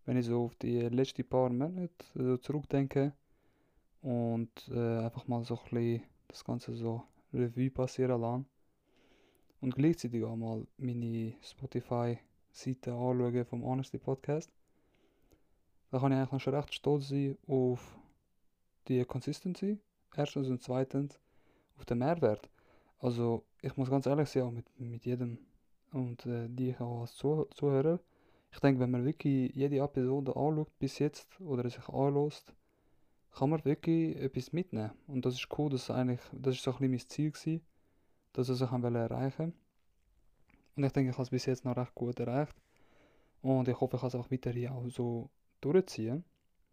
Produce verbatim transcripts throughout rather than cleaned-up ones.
wenn ich so auf die letzten paar Monate so zurückdenke und äh, einfach mal so ein bisschen das Ganze so Revue passieren lasse und gleichzeitig auch mal meine Spotify-Seite anschaue vom Honesty Podcast, da kann ich eigentlich noch schon recht stolz sein auf die Consistency, erstens und zweitens auf den Mehrwert. Also ich muss ganz ehrlich sein, auch mit, mit jedem und äh, die ich auch als Zuh Zuhörer. Ich denke, wenn man wirklich jede Episode anschaut bis jetzt oder sich anlässt, kann man wirklich etwas mitnehmen. Und das ist cool, dass eigentlich, das ist so ein bisschen mein Ziel gewesen, dass ich es auch erreichen. Und ich denke, ich habe es bis jetzt noch recht gut erreicht. Und ich hoffe, ich kann es auch weiterhin auch so durchziehen.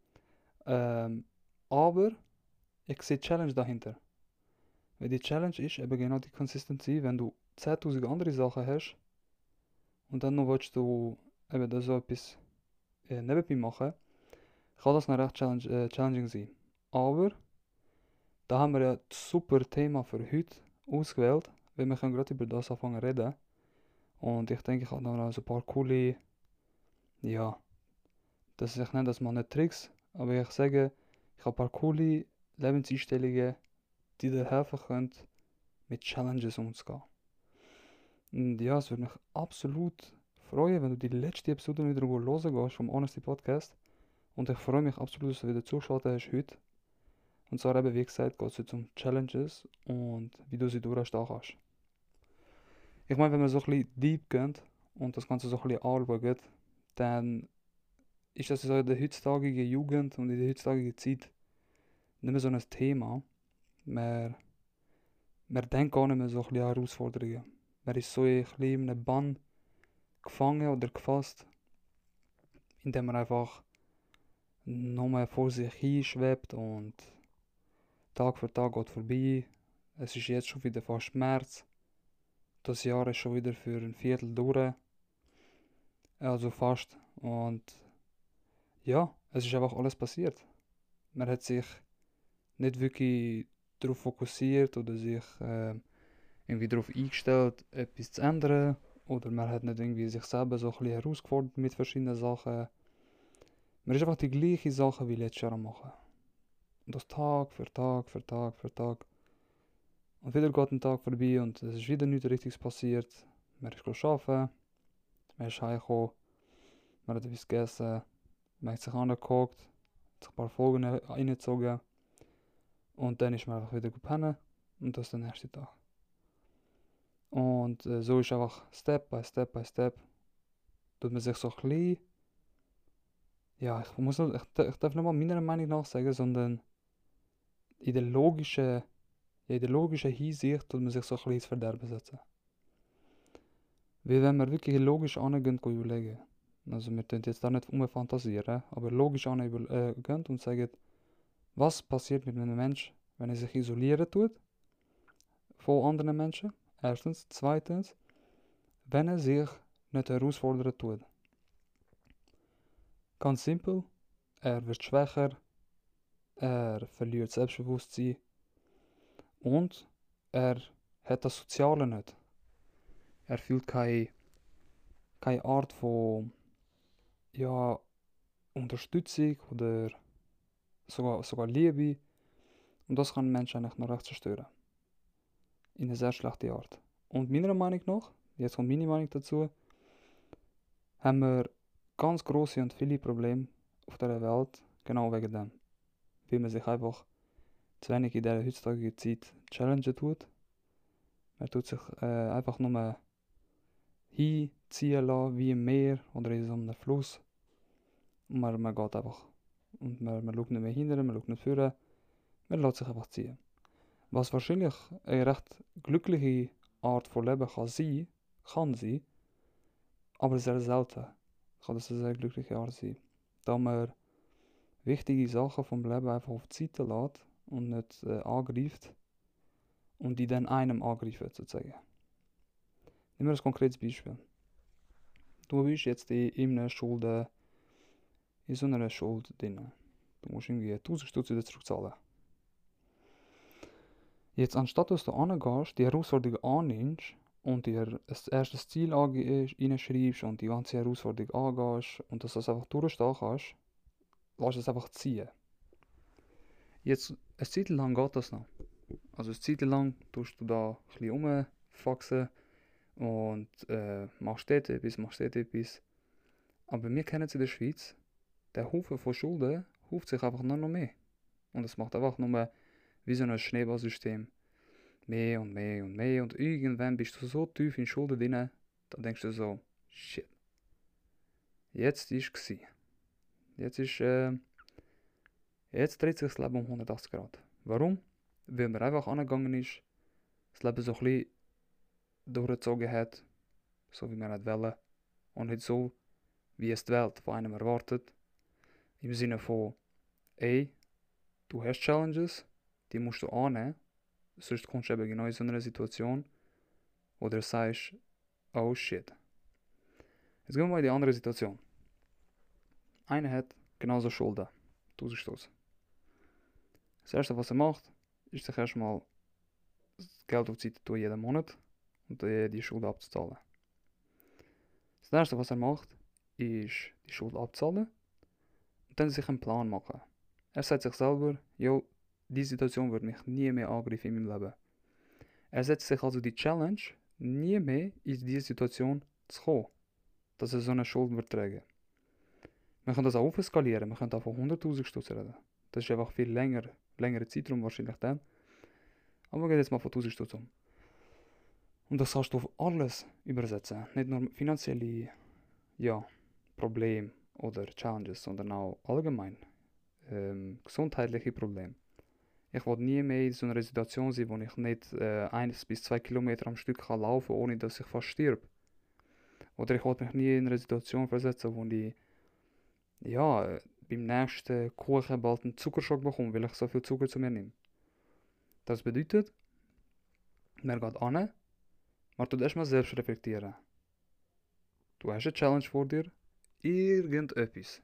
Ähm, aber ich sehe die Challenge dahinter. Weil die Challenge ist eben genau die Consistency, wenn du zehntausend andere Sachen hast und dann noch willst du eben da so etwas äh, nebenbei machen, kann das noch recht challenge, äh, challenging sein. Aber da haben wir ja das super Thema für heute ausgewählt, weil wir können gerade über das anfangen zu reden. Und ich denke, ich habe noch so ein paar coole, ja, das, ich nenne das mal nicht Tricks, aber ich sage, ich habe ein paar coole Lebenseinstellungen, die dir helfen können, mit Challenges umzugehen. Und ja, es würde mich absolut freuen, wenn du die letzte Episode wieder hören gehst vom Honesty Podcast. Und ich freue mich absolut, dass du wieder zugeschaltet hast heute. Und zwar eben, wie gesagt, geht es heute um Challenges und wie du sie durchstehen kannst. Ich meine, wenn wir so ein bisschen deep gehen und das Ganze so ein bisschen anschauen, dann ist das so in der heutzutage Jugend und in der heutzutage Zeit nicht mehr so ein Thema. Man, man denkt gar nicht mehr so ein bisschen an Herausforderungen. Man ist so ein bisschen in einem Bann gefangen oder gefasst, indem man einfach nur vor sich hinschwebt und Tag für Tag geht vorbei. Es ist jetzt schon wieder fast März. Das Jahr ist schon wieder für ein Viertel durch. Also fast. Und ja, es ist einfach alles passiert. Man hat sich nicht wirklich darauf fokussiert oder sich äh, irgendwie darauf eingestellt, etwas zu ändern. Oder man hat nicht irgendwie sich selber so ein bisschen herausgefordert mit verschiedenen Sachen. Man ist einfach die gleiche Sache wie letztes Jahr am machen. Und das Tag für Tag für Tag für Tag. Und wieder geht ein Tag vorbei und es ist wieder nichts Richtiges passiert. Man ist arbeiten, man ist heimgekommen, man hat etwas gegessen, man hat sich angeguckt, hat sich ein paar Folgen reingezogen und dann ist man einfach wieder pennen und das ist der nächste Tag. Und äh, so ist einfach Step by Step by Step, tut man sich so ein bisschen, ja, ich muss nicht, ich, ich darf nicht mal meiner Meinung nach sagen, sondern in der logischen, ja, in der logischen Hinsicht tut man sich so ein bisschen ins Verderben setzen. Weil wenn wir wirklich logisch angehen und überlegen, also wir tun jetzt da nicht umfantasieren, aber logisch angehen äh, und sagen, was passiert mit einem Menschen, wenn er sich isolieren tut von anderen Menschen? Erstens. Zweitens, wenn er sich nicht herausfordern tut. Ganz simpel, er wird schwächer, er verliert Selbstbewusstsein und er hat das Soziale nicht. Er fühlt keine, keine Art von ja, Unterstützung oder sogar, sogar Liebe. Und das kann einen Menschen eigentlich noch recht zerstören. In eine sehr schlechte Art. Und meiner Meinung nach, jetzt kommt meine Meinung dazu, haben wir ganz große und viele Probleme auf dieser Welt, genau wegen dem. Weil man sich einfach zu wenig in dieser heutzutage Zeit challengen tut. Man tut sich äh, einfach nur hinziehen lassen, wie im Meer oder in so einem Fluss. Und man, man geht einfach. Und man, man schaut nicht mehr hinterher, man schaut nicht vorne, man lässt sich einfach ziehen. Was wahrscheinlich eine recht glückliche Art von Leben kann sein, kann sein, aber sehr selten kann das eine sehr glückliche Art sein. Da man wichtige Sachen vom Leben einfach auf die Seite lässt und nicht äh, angreift und die dann einem angreifen sozusagen. Nehmen wir ein konkretes Beispiel. Du bist jetzt in einer Schuld, äh, in so einer Schuld drin. Du musst irgendwie tausend Stutz wieder zurückzahlen. Jetzt, anstatt dass du angehst, die Herausforderung annimmst und dir ein erstes Ziel reinschreibst und die ganze Herausforderung angehst und dass du das einfach durchstehen kannst, lass es einfach ziehen. Jetzt, eine Zeit lang geht das noch. Also eine Zeit lang tust du da ein bisschen rumfaxen und äh, machst dort etwas, machst dort etwas. Aber wir kennen es in der Schweiz, der Haufen von Schulden hauft sich einfach noch mehr. Und es macht einfach nur wie so ein Schneeballsystem. Mehr und mehr und mehr. Und irgendwann bist du so tief in Schulden drin, dann denkst du so, shit. Jetzt ist es. Jetzt ist, äh, jetzt dreht sich das Leben um hundertachtzig Grad. Warum? Weil man einfach angegangen ist, das Leben so ein bisschen durchgezogen hat, so wie man es wollte. Und nicht so, wie es die Welt von einem erwartet. Im Sinne von, ey, du hast Challenges, die musst du annehmen. Sonst kommst du eben genau in so eine Situation, wo du sagst, oh shit. Jetzt gehen wir mal in die andere Situation. Einer hat genauso Schulden, tausend Stutz. Das erste, was er macht, ist sich erstmal das Geld auf die Seite tun, jeden Monat und die, die Schulden abzuzahlen. Das erste, was er macht, ist die Schuld abzahlen und dann sich einen Plan machen. Er sagt sich selber, jo, diese Situation wird mich nie mehr angreifen in meinem Leben. Er setzt sich also die Challenge, nie mehr in diese Situation zu kommen, dass er so eine Schuld wird tragen. Wir können das auch aufskalieren, wir können auch von hunderttausend Stutz reden. Das ist einfach viel länger, längerer Zeitraum wahrscheinlich dann. Aber wir gehen jetzt mal von tausend Stutz um. Und das kannst du auf alles übersetzen. Nicht nur finanzielle ja, Probleme oder Challenges, sondern auch allgemein ähm, gesundheitliche Probleme. Ich will nie mehr in so einer Situation sein, wo ich nicht äh, eins bis zwei Kilometer am Stück kann laufen, ohne dass ich fast stirb. Oder ich will mich nie in eine Situation versetzen, wo ich ja, äh, beim nächsten Kuchen bald einen Zuckerschock bekomme, weil ich so viel Zucker zu mir nehme. Das bedeutet, man geht an, man tut erstmal selbst reflektieren. Du hast eine Challenge vor dir, irgendetwas.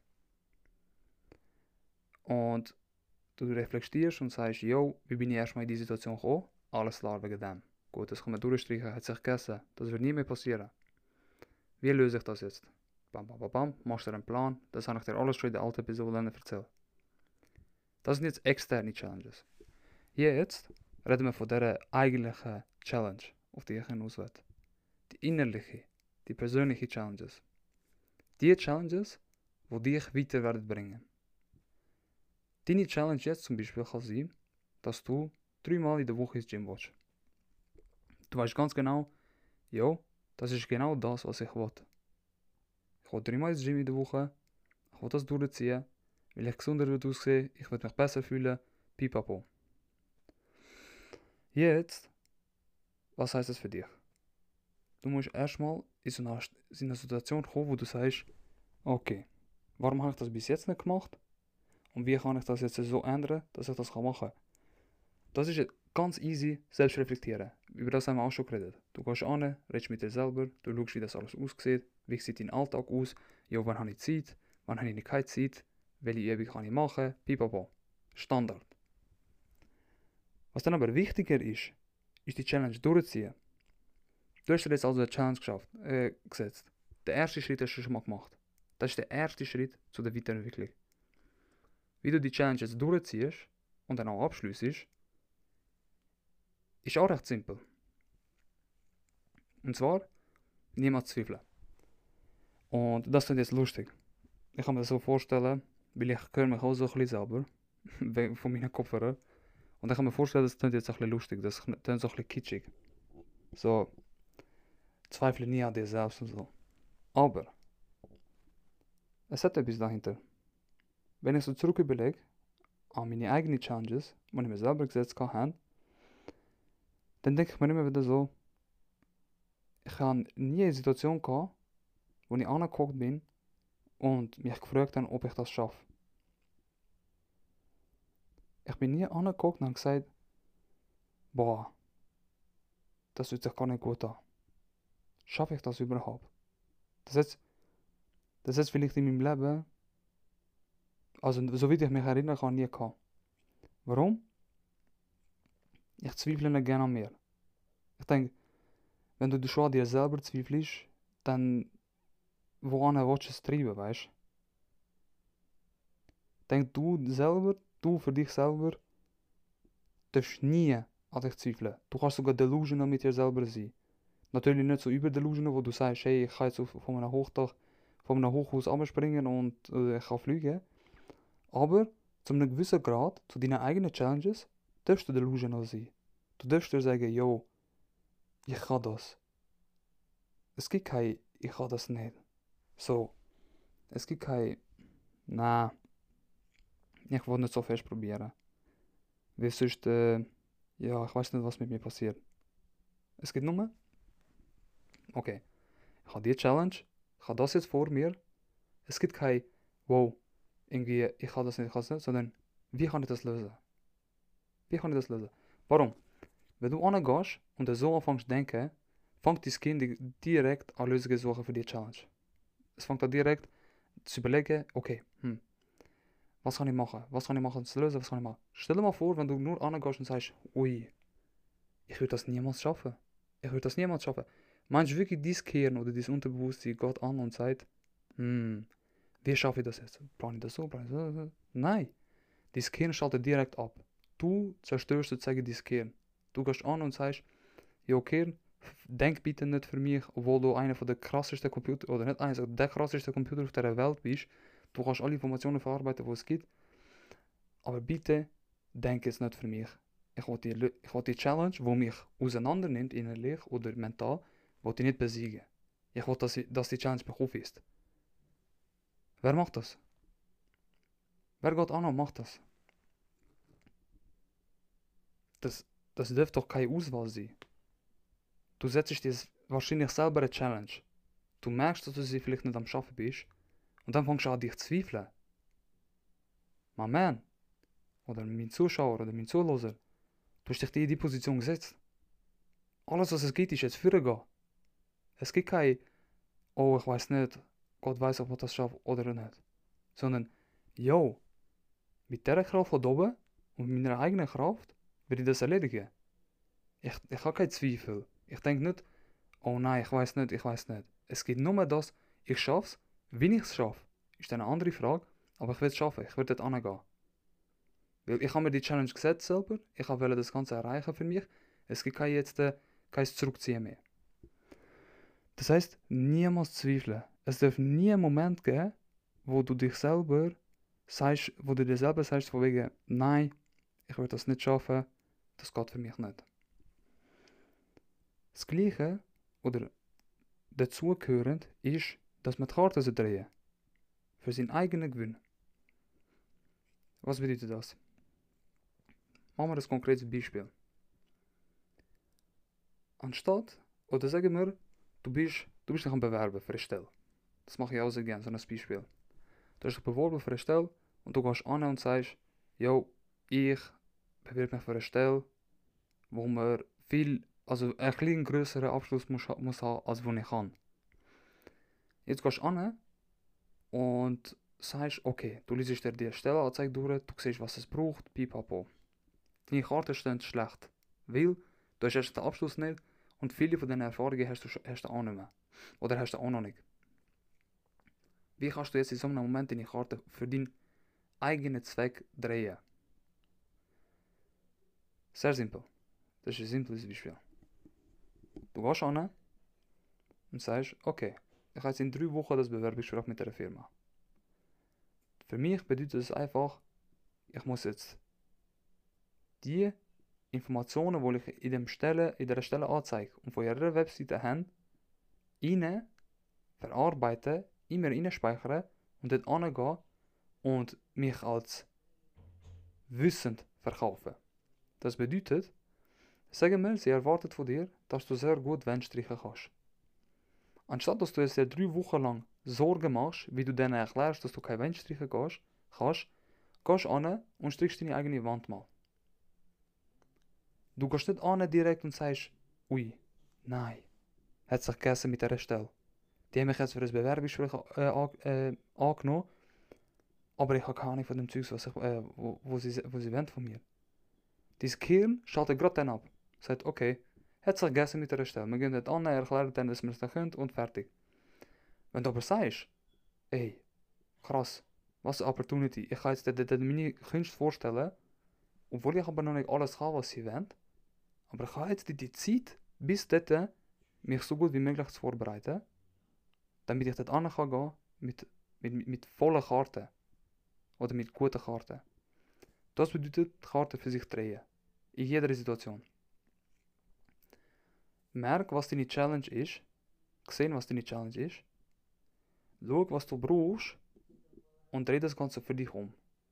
Und du reflektierst und sagst, yo, wie bin ich erstmal in diese Situation gekommen? Alles klar wegen dem. Gut, das kann man durchstreichen, hat sich gegessen. Das wird nie mehr passieren. Wie löse ich das jetzt? Bam, bam, bam, bam, machst du einen Plan. Das habe ich dir alles schon in der alten Episode erzählt. Das sind jetzt externe Challenges. Jetzt reden wir von dieser eigentlichen Challenge, auf die ich hinaus will. Die innerliche, die persönliche Challenges. Die Challenges, die dich weiter werden bringen. Deine Challenge jetzt zum Beispiel kann sein, dass du dreimal in der Woche ins Gym willst. Du weißt ganz genau, jo, das ist genau das, was ich will. Ich will dreimal ins Gym in der Woche, ich will das durchziehen, weil ich gesünder wird aussehen, ich will mich besser fühlen, pipapo. Jetzt, was heißt das für dich? Du musst erstmal in so eine, in eine Situation kommen, wo du sagst, okay, warum habe ich das bis jetzt nicht gemacht? Und wie kann ich das jetzt so ändern, dass ich das machen kann? Das ist ganz easy, selbst reflektieren. Über das haben wir auch schon geredet. Du gehst an, redest mit dir selber, du schaust, wie das alles aussieht, wie sieht dein Alltag aus, ja, wann habe ich Zeit, wann habe ich keine Zeit, welche Übung kann ich machen, pipapo. Standard. Was dann aber wichtiger ist, ist die Challenge durchziehen. Du hast dir jetzt also eine Challenge geschafft, äh, gesetzt. Der erste Schritt hast du schon mal gemacht. Das ist der erste Schritt zu der Weiterentwicklung. Wie du die Challenge jetzt durchziehst und dann auch abschliessest, ist auch recht simpel. Und zwar, niemals zweifeln. Und das klingt jetzt lustig. Ich kann mir das so vorstellen, weil ich höre mich auch so ein bisschen selber, von meinen Kopfhörern. Und ich kann mir vorstellen, das klingt jetzt ein bisschen lustig, das klingt so ein bisschen kitschig. So, zweifle nie an dir selbst und so. Aber, es hat etwas dahinter. Wenn ich so zurück überlege, an meine eigenen Challenges, die ich mir selber gesetzt habe, dann denke ich mir immer wieder so, ich habe nie eine Situation gehabt, wo ich angeguckt bin und mich gefragt habe, ob ich das schaffe. Ich bin nie angeguckt und habe gesagt, boah, das fühlt sich gar nicht gut an. Schaffe ich das überhaupt? Das ist, das ist vielleicht in meinem Leben, also soweit ich mich erinnern kann, nie gehabt. Warum? Ich zweifle nicht gerne an mir. Ich denke, wenn du schon an dir selber zweifelst, dann woran willst du es treiben, weißt du? Denk du selber, du für dich selber, darfst nie an dich zweifeln. Du kannst sogar delusional mit dir selber sein. Natürlich nicht so überdelusional, wo du sagst, hey, ich kann jetzt auf, von einem Hochdach, von einem Hochhaus abspringen und äh, ich kann fliegen. Aber zu einem gewissen Grad, zu deinen eigenen Challenges, darfst du delusional sein. Du darfst dir sagen, yo, ich kann das. Es gibt kein, ich kann das nicht. So, es gibt kein, na, ich will nicht so fest probieren. Weil sonst, äh, ja, ich weiß nicht, was mit mir passiert. Es gibt nur, okay, ich habe die Challenge, ich habe das jetzt vor mir. Es gibt kein, wow, irgendwie, ich kann das nicht, ich kann das nicht, sondern wie kann ich das lösen? Wie kann ich das lösen? Warum? Wenn du angehst und so anfängst zu denken, fängt dein Kind direkt an Lösungen zu suchen für die Challenge. Es fängt an direkt zu überlegen, okay, hm, was kann ich machen? Was kann ich machen, um zu lösen? Was kann ich machen? Stell dir mal vor, wenn du nur angehst und sagst, ui, ich würde das niemals schaffen. Ich würde das niemals schaffen. Meinst du wirklich, dieses Kern oder dieses Unterbewusstsein geht an und sagt, hm, wie schaffe ich das jetzt? Plane ich das so? Plane ich das so? Nein. Dieses Kern schaltet direkt ab. Du zerstörst sozusagen dieses Kern. Du gehst an und sagst, jo Kern, denk bitte nicht für mich, obwohl du einer von der krassesten Computer, oder nicht einer, der krasseste Computer auf der Welt bist. Du kannst alle Informationen verarbeiten, die es gibt. Aber bitte, denk jetzt nicht für mich. Ich will die, ich will die Challenge, die mich auseinander nimmt, innerlich oder mental, will ich nicht besiegen. Ich will, dass, ich, dass die Challenge mich aufisst. Wer macht das? Wer geht an und macht das? Das, das dürfte doch keine Auswahl sein. Du setzt dir wahrscheinlich selber eine Challenge. Du merkst, dass du sie vielleicht nicht am Schaffen bist. Und dann fängst du an, dich zu zweifeln. My man, oder mein Zuschauer oder mein Zuhörer, du hast dich in die Position gesetzt. Alles, was es gibt, ist jetzt vorgehen. Es gibt kein, oh, ich weiß nicht, Gott weiß, ob ich das schaffe oder nicht. Sondern, yo, mit dieser Kraft von oben und mit meiner eigenen Kraft werde ich das erledigen. Ich, ich habe keinen Zweifel. Ich denke nicht, oh nein, ich weiß nicht, ich weiß nicht. Es geht nur das, ich schaffe es. Wie ich es schaffe, ist eine andere Frage, aber ich will es schaffen, ich will dort hingehen. Weil ich habe mir die Challenge gesetzt selber, ich wollte das Ganze erreichen für mich. Es gibt kein jetzt äh, kein Zurückziehen mehr. Das heisst, niemals zweifeln. Es darf nie einen Moment geben, wo du dich selber sagst, wo du dir selber sagst, von wegen, nein, ich will das nicht schaffen, das geht für mich nicht. Das Gleiche, oder dazugehörend, ist, dass man die Karten drehen für seinen eigenen Gewinn. Was bedeutet das? Machen wir ein konkretes Beispiel. Anstatt, oder sagen wir, du bist, du bist dich am Bewerben für eine Stelle. Das mache ich auch sehr gerne, so ein Beispiel. Du hast dich beworben für eine Stelle und du gehst an und sagst, yo, ich bewerbe mich für eine Stelle, wo man viel, also einen kleinen grösseren Abschluss muss, muss haben, als wo ich kann. Jetzt gehst du an und sagst, okay, du liest dir die Stellenanzeige durch, du siehst, was es braucht, pipapo. Deine Karten stehen schlecht, weil du hast erst den Abschluss nicht und viele von diesen Erfahrungen hast du, hast du auch nicht mehr. Oder hast du auch noch nicht. Wie kannst du jetzt in so einem Moment deine Karte für deinen eigenen Zweck drehen? Sehr simpel. Das ist ein simples Beispiel. Du gehst an und sagst, okay, ich habe jetzt in drei Wochen das Bewerbungsgespräch mit der Firma. Für mich bedeutet es einfach, ich muss jetzt die Informationen, die ich in, dem Stelle, in der Stelle anzeige und von ihrer Webseite habe, rein verarbeiten, immer reinspeichern und dort angehen und mich als wissend verkaufen. Das bedeutet, sagen wir, sie erwartet von dir, dass du sehr gut Wände streichen kannst. Anstatt dass du jetzt drei Wochen lang Sorgen machst, wie du denen erklärst, dass du keine Wände streichen kannst, kannst, gehst an und strichst deine eigene Wand mal. Du gehst nicht an direkt und sagst, ui, nein, hat sich gegessen mit dieser Stelle. Die haben mich jetzt für ein Bewerbungsgespräch äh, äh, angenommen, aber ich habe keine Ahnung von dem Zeugs, was ich, äh, wo, wo, sie, wo sie wollen von mir. Dein Gehirn schaltet gerade dann ab. Sagt, okay, hat sich gegessen mit der Stelle. Wir gehen dort an, er erklärt dann, dass wir es nicht können und fertig. Wenn du aber sagst, ey, krass, was eine Opportunity. Ich kann jetzt dort meine Künste vorstellen, obwohl ich aber noch nicht alles kann, was sie wollen. Aber ich habe jetzt die, die Zeit, bis dort mich so gut wie möglich zu vorbereiten, damit ich dort an kann gehen mit, mit, mit, mit vollen Karten. Oder mit guten Karten. Das bedeutet, die Karten für sich drehen. In jeder Situation. Merk, was deine Challenge ist. Sehen, was deine Challenge ist. Schau, was du brauchst. Und dreh das Ganze für dich um.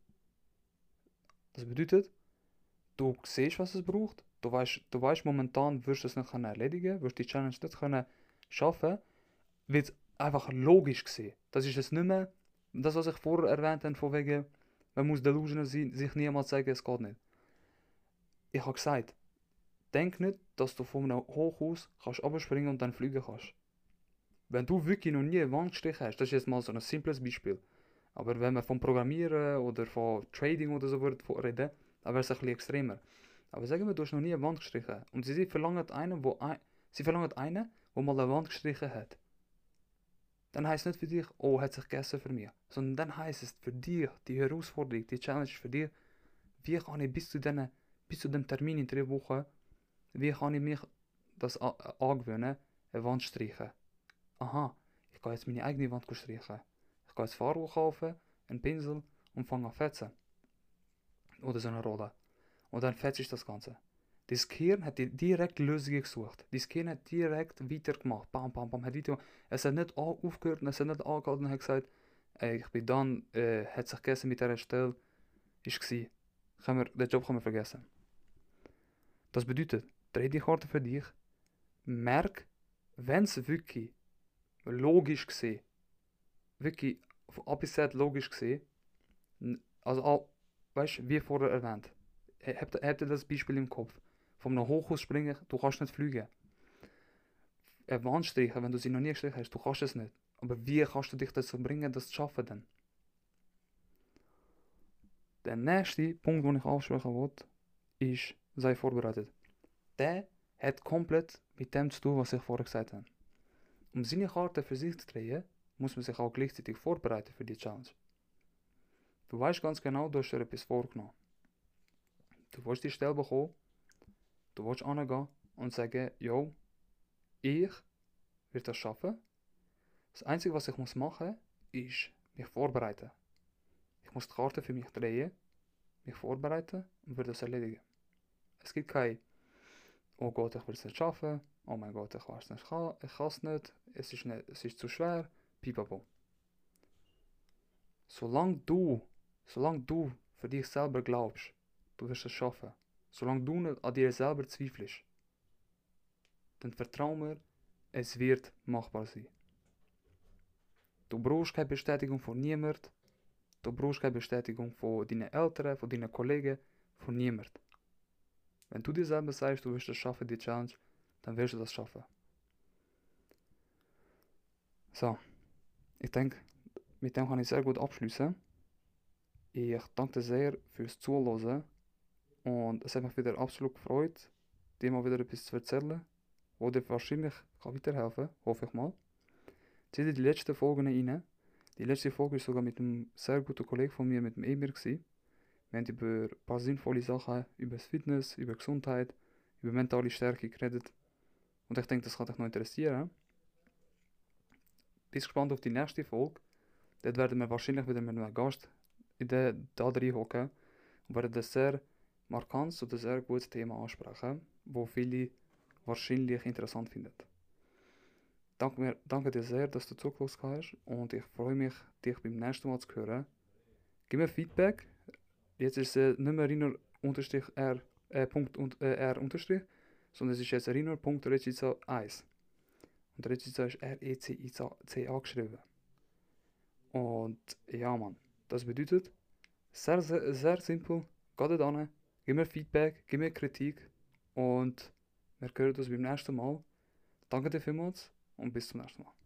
Das bedeutet, du siehst, was es braucht. Du weißt, du weißt momentan, wirst du es nicht erledigen, wirst die Challenge nicht können schaffen, wird einfach logisch gesehen. Das ist es nicht mehr, das, was ich vorher erwähnt habe, von wegen, man muss delusional sein, sich niemals sagen, es geht nicht. Ich habe gesagt, denk nicht, dass du von einem Hochhaus kannst abspringen und dann fliegen kannst. Wenn du wirklich noch nie eine Wand gestrichen hast, das ist jetzt mal so ein simples Beispiel. Aber wenn wir vom Programmieren oder von Trading oder so reden, dann wäre es ein bisschen extremer. Aber sagen wir, du hast noch nie eine Wand gestrichen und sie verlangen einen, wo ein, sie verlangen einen, der mal eine Wand gestrichen hat. Dann heisst es nicht für dich, oh, hat sich gegessen für mich. Sondern dann heisst es für dich, die Herausforderung, die Challenge für dich, wie kann ich bis zu, den, bis zu dem Termin in drei Wochen, wie kann ich mich das angewöhnen, eine Wand zu streichen. Aha, ich kann jetzt meine eigene Wand streichen. Ich kann jetzt Farbe kaufen, einen Pinsel und fange an fetzen. Oder so eine Rolle. Und dann fetzt ich das Ganze. Das Gehirn hat direkt Lösungen gesucht. Das Gehirn hat direkt weitergemacht. Bam, bam, bam. Hat weiter es hat nicht aufgehört, es hat nicht angehalten und hat gesagt, ey, ich bin dann, äh, hat sich gegessen mit dieser Stelle, ist gsi. Wir, den Job können wir vergessen. Das bedeutet, dreh die Karte für dich, merk, wenn es wirklich logisch gesehen, wirklich von A bis Z logisch gesehen, also, weißt du, wie vorher erwähnt, habt ihr das Beispiel im Kopf? Von einem Hochhaus springen, du kannst nicht fliegen. Eine Wand streichen, wenn du sie noch nie gestrichen hast, du kannst es nicht. Aber wie kannst du dich dazu bringen, das zu schaffen dann? Der nächste Punkt, den ich ansprechen wollte, ist, sei vorbereitet. Der hat komplett mit dem zu tun, was ich vorher gesagt habe. Um seine Karte für sich zu drehen, muss man sich auch gleichzeitig vorbereiten für die Challenge. Du weißt ganz genau, du hast dir etwas vorgenommen. Du willst die Stelle bekommen, du willst hingehen und sagen, yo, ich werde das schaffen. Das Einzige, was ich muss machen, ist mich vorbereiten. Ich muss die Karte für mich drehen, mich vorbereiten und werde das erledigen. Es gibt kein, oh Gott, ich will es nicht schaffen, oh mein Gott, ich weiß nicht, ich kann es nicht, es ist, nicht, es ist zu schwer, pipapo. Solange du, solange du für dich selber glaubst, du wirst es schaffen, solange du nicht an dir selber zweifelst, dann vertrau mir, es wird machbar sein. Du brauchst keine Bestätigung von niemand, du brauchst keine Bestätigung von deinen Eltern, von deinen Kollegen, von niemand. Wenn du dir selber sagst, du wirst es schaffen, die Challenge, dann wirst du das schaffen. So, ich denke, mit dem kann ich sehr gut abschließen. Ich danke dir sehr fürs Zuhören und es hat mich wieder absolut gefreut, dir mal wieder etwas zu erzählen, wo dir wahrscheinlich kann weiterhelfen kann, hoffe ich mal. Zieh dir die letzten Folgen rein. Die letzte Folge war sogar mit einem sehr guten Kollegen von mir, mit dem Emir, gewesen. Wir haben über ein paar sinnvolle Sachen, über das Fitness, über Gesundheit, über mentale Stärke geredet. Und ich denke, das kann dich noch interessieren. Bist gespannt auf die nächste Folge. Dort werden wir wahrscheinlich wieder mit einem Gast in der, da drin hocken und werden ein sehr markantes oder sehr gutes Thema ansprechen, das viele wahrscheinlich interessant finden. Danke, mir, danke dir sehr, dass du zugehört hast und ich freue mich, dich beim nächsten Mal zu hören. Gib mir Feedback. Jetzt ist es nicht mehr Riner unterstrich R, äh, Punkt und, äh, R unterstrich, sondern es ist jetzt Riner Punkt Recica eins. Und Recica ist R E C I C A geschrieben. Und ja, Mann, das bedeutet, sehr, sehr, sehr simpel, geh da hin, gib mir Feedback, gib mir Kritik und wir hören uns beim nächsten Mal. Danke dir vielmals und bis zum nächsten Mal.